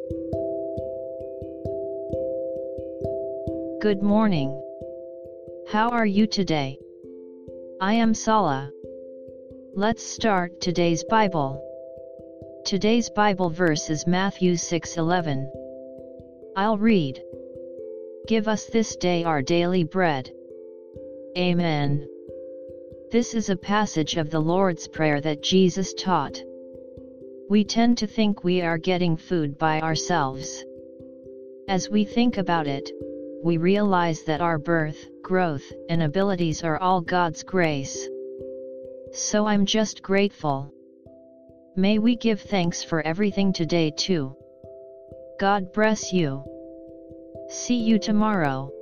Good morning. How are you today? I am Sala. Let's start today's Bible. Today's Bible verse is Matthew 6:11. I'll read. Give us this day our daily bread. Amen. This is a passage of the Lord's Prayer that Jesus taught. We tend to think we are getting food by ourselves. As we think about it, we realize that our birth, growth, and abilities are all God's grace. So I'm just grateful. May we give thanks for everything today too. God bless you. See you tomorrow.